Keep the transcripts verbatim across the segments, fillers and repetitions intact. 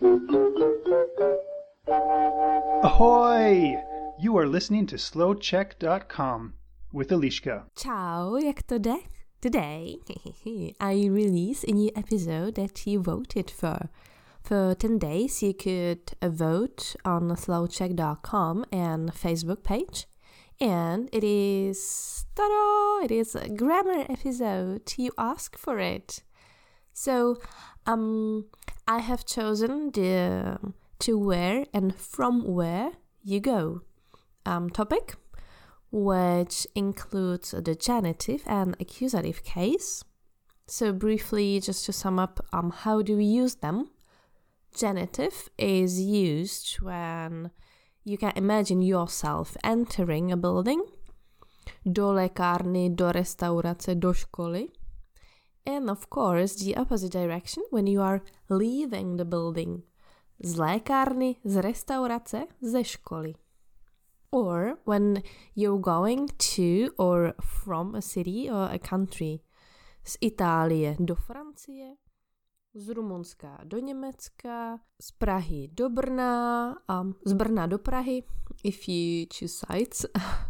Ahoy! You are listening to slow check dot com with Eliška. Ciao, jak to jde? Today, I release a new episode that you voted for. For ten days, you could vote on slow check dot com and Facebook page. And it is, ta-da, it is a grammar episode. You asked for it. So, um, I have chosen the to where and from where you go um, topic, which includes the genitive and accusative case. So briefly, just to sum up, um, how do we use them? Genitive is used when you can imagine yourself entering a building, do lékárny, do restaurace, do školy. And of course, the opposite direction when you are leaving the building, z lékárny, z restaurace, ze školy. Or when you're going to or from a city or a country, z Itálie do Francie, z Rumunska do Německa, z Prahy do Brna, um, z Brna do Prahy, if you choose sites.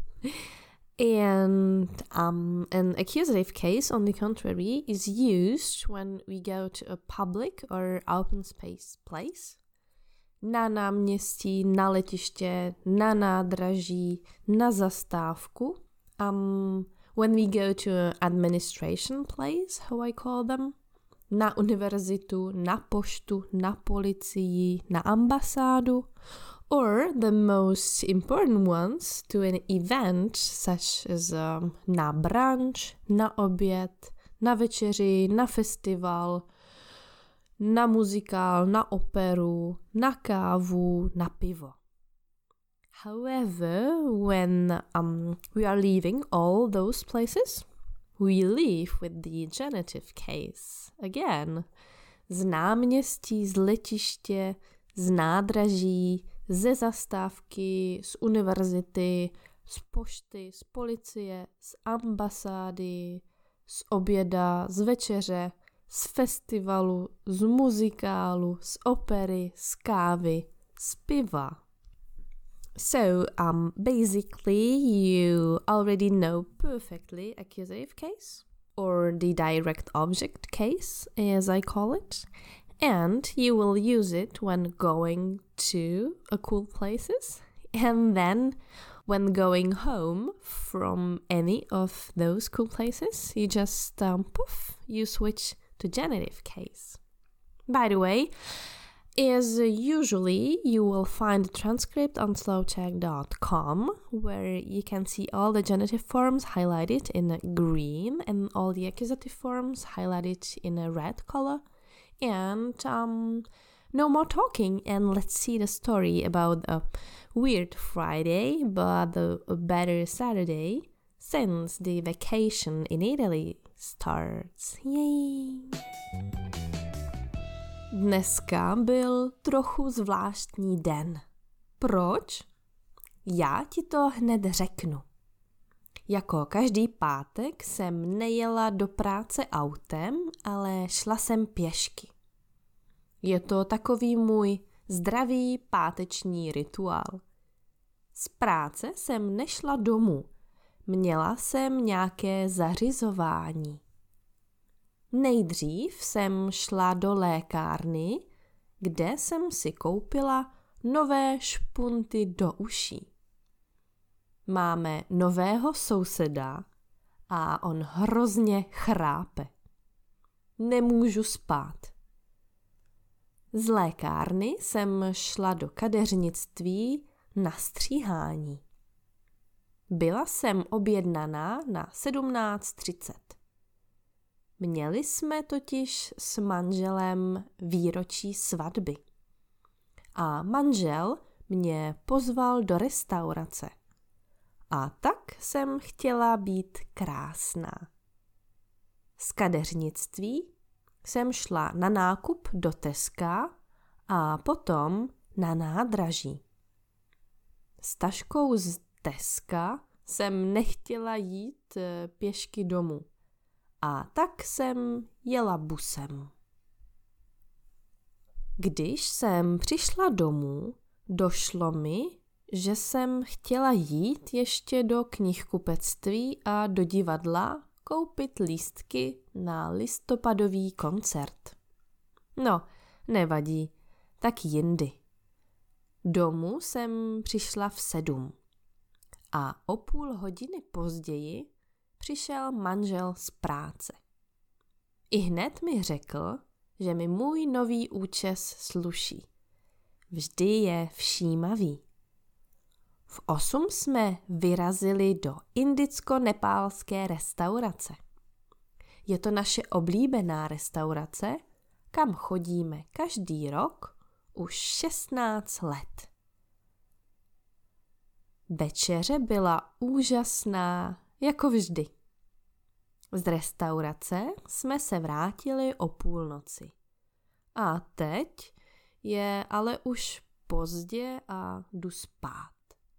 And um, an accusative case, on the contrary, is used when we go to a public or open space place. Na náměstí, na letiště, na nádraží, na zastávku. Um, when we go to an administration place, how I call them. Na univerzitu, na poštu, na policii, na ambasádu. Or the most important ones to an event such as um, na brunch, na oběd, na večeři, na festival, na muzikál, na operu, na kávu, na pivo. However, when um, we are leaving all those places, we leave with the genitive case. Again, z náměstí, z letiště, z nádraží, ze zastávky, z univerzity, z pošty, z policie, z ambasády, z oběda, z večeře, z festivalu, z muzikálu, z opery, z kávy, z piva. So, um, basically, you already know perfectly accusative case, or the direct object case, as I call it, and you will use it when going to a cool places, and then when going home from any of those cool places, you just, um, poof, you switch to genitive case. By the way, as usually, you will find the transcript on slow check dot com, where you can see all the genitive forms highlighted in green and all the accusative forms highlighted in a red color. And um, no more talking, and let's see the story about a weird Friday, but a better Saturday, since the vacation in Italy starts. Yay! Dneska byl trochu zvláštní den. Proč? Já ti to hned řeknu. Jako každý pátek jsem nejela do práce autem, ale šla jsem pěšky. Je to takový můj zdravý páteční rituál. Z práce jsem nešla domů. Měla jsem nějaké zařizování. Nejdřív jsem šla do lékárny, kde jsem si koupila nové špunty do uší. Máme nového souseda a on hrozně chrápe. Nemůžu spát. Z lékárny jsem šla do kadeřnictví na stříhání. Byla jsem objednaná na sedmnáct třicet. Měli jsme totiž s manželem výročí svatby. A manžel mě pozval do restaurace. A tak jsem chtěla být krásná. Z kadeřnictví jsem šla na nákup do Teska a potom na nádraží. S taškou z Teska jsem nechtěla jít pěšky domů. A tak jsem jela busem. Když jsem přišla domů, došlo mi, že jsem chtěla jít ještě do knihkupectví a do divadla koupit lístky na listopadový koncert. No, nevadí, tak jindy. Domů jsem přišla v sedm a o půl hodiny později přišel manžel z práce. I hned mi řekl, že mi můj nový účes sluší. Vždy je všímavý. V osm jsme vyrazili do indicko-nepálské restaurace. Je to naše oblíbená restaurace, kam chodíme každý rok už šestnáct let. Večeře byla úžasná, jako vždy. Z restaurace jsme se vrátili o půlnoci. A teď je ale už pozdě a jdu spát.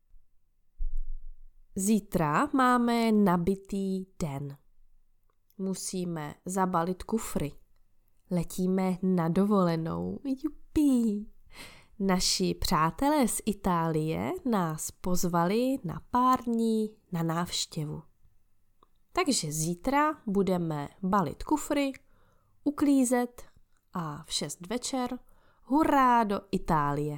Zítra máme nabitý den. Musíme zabalit kufry. Letíme na dovolenou. Jupí! Naši přátelé z Itálie nás pozvali na pár dní na návštěvu. Takže zítra budeme balit kufry, uklízet a v šest večer hurá do Itálie.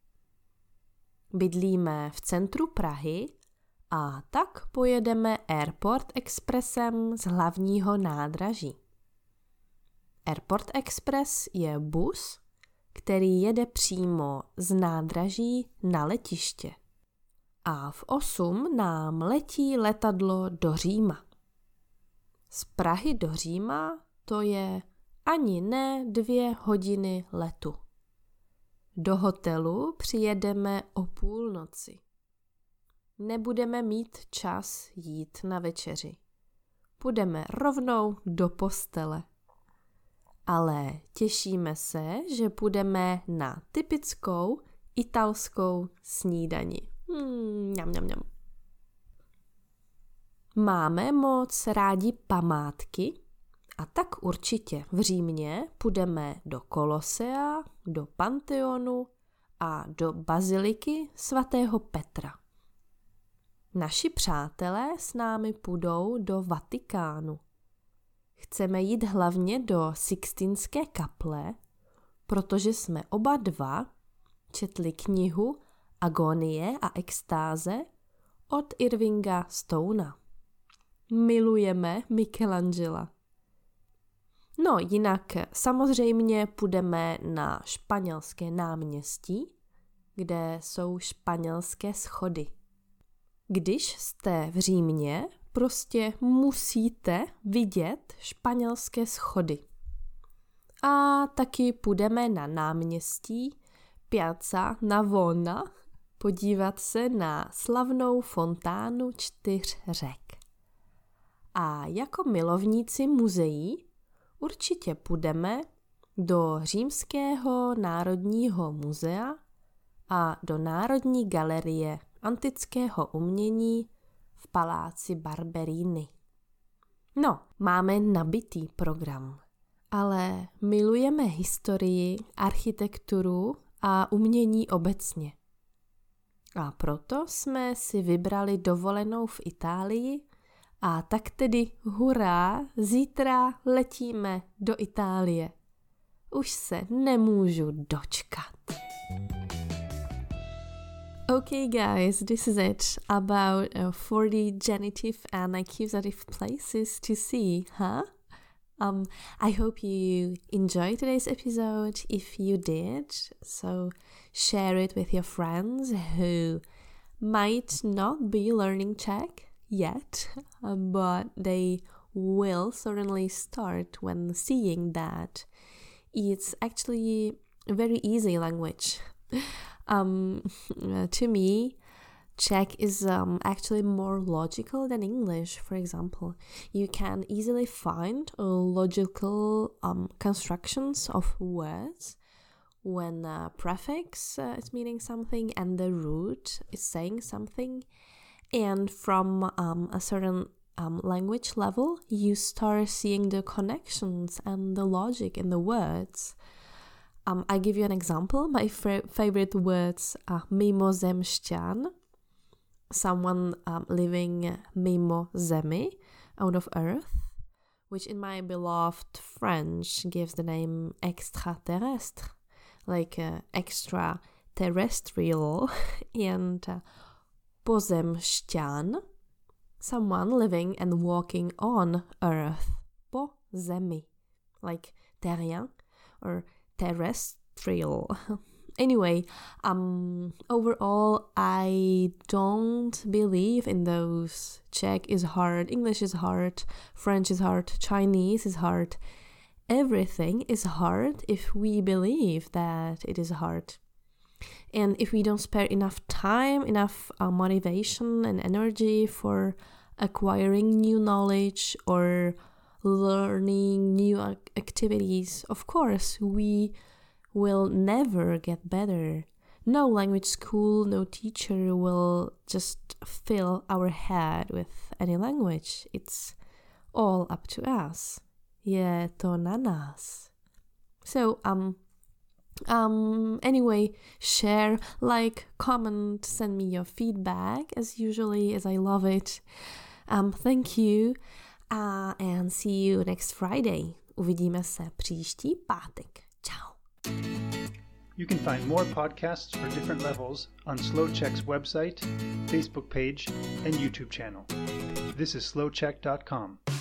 Bydlíme v centru Prahy a tak pojedeme Airport Expressem z hlavního nádraží. Airport Express je bus, který jede přímo z nádraží na letiště. A v osm nám letí letadlo do Říma. Z Prahy do Říma to je ani ne dvě hodiny letu. Do hotelu přijedeme o půlnoci. Nebudeme mít čas jít na večeři. Půjdeme rovnou do postele. Ale těšíme se, že půjdeme na typickou italskou snídani. Hmm, mňam, mňam, mňam. Máme moc rádi památky a tak určitě v Římě půjdeme do Kolosea, do Panteonu a do baziliky svatého Petra. Naši přátelé s námi půjdou do Vatikánu. Chceme jít hlavně do Sixtinské kaple, protože jsme oba dva četli knihu Agonie a extáze od Irvinga Stona. Milujeme Michelangela. No jinak samozřejmě půjdeme na španělské náměstí, kde jsou španělské schody. Když jste v Římě, prostě musíte vidět španělské schody. A taky půjdeme na náměstí Piazza Navona podívat se na slavnou fontánu čtyř řek. A jako milovníci muzeí určitě půjdeme do Římského národního muzea a do Národní galerie antického umění v paláci Barberini. No, máme nabitý program, ale milujeme historii, architekturu a umění obecně. A proto jsme si vybrali dovolenou v Itálii a tak tedy hurá, zítra letíme do Itálie. Už se nemůžu dočkat. Okay guys, this is it about uh, forty genitive and accusative places to see, huh? Um, I hope you enjoyed today's episode. If you did, so share it with your friends who might not be learning Czech yet, but they will certainly start when seeing that it's actually a very easy language. Um, to me, Czech is um, actually more logical than English, for example. You can easily find uh, logical um, constructions of words when a prefix uh, is meaning something and the root is saying something. And from um, a certain um, language level, you start seeing the connections and the logic in the words. Um, I give you an example. My f- favorite words are mimozemšťan, someone um, living mimo zemi, out of earth, which in my beloved French gives the name extraterrestre, like uh, extraterrestrial, and uh, pozemšťan, someone living and walking on earth, po zemi, like terrien or terrestrial. Anyway, um, overall, I don't believe in those. Czech is hard, English is hard, French is hard, Chinese is hard. Everything is hard if we believe that it is hard. And if we don't spare enough time, enough uh, motivation and energy for acquiring new knowledge or learning new ac- activities, of course, we will never get better. No language school, no teacher will just fill our head with any language. It's all up to us. Je to na nás. So, um, um, anyway, share, like, comment, send me your feedback, as usually, as I love it. Um, thank you, uh, and see you next Friday. Uvidíme se příští pátek. Ciao. You can find more podcasts for different levels on Slow Czech's website, Facebook page, and YouTube channel. This is slow czech dot com.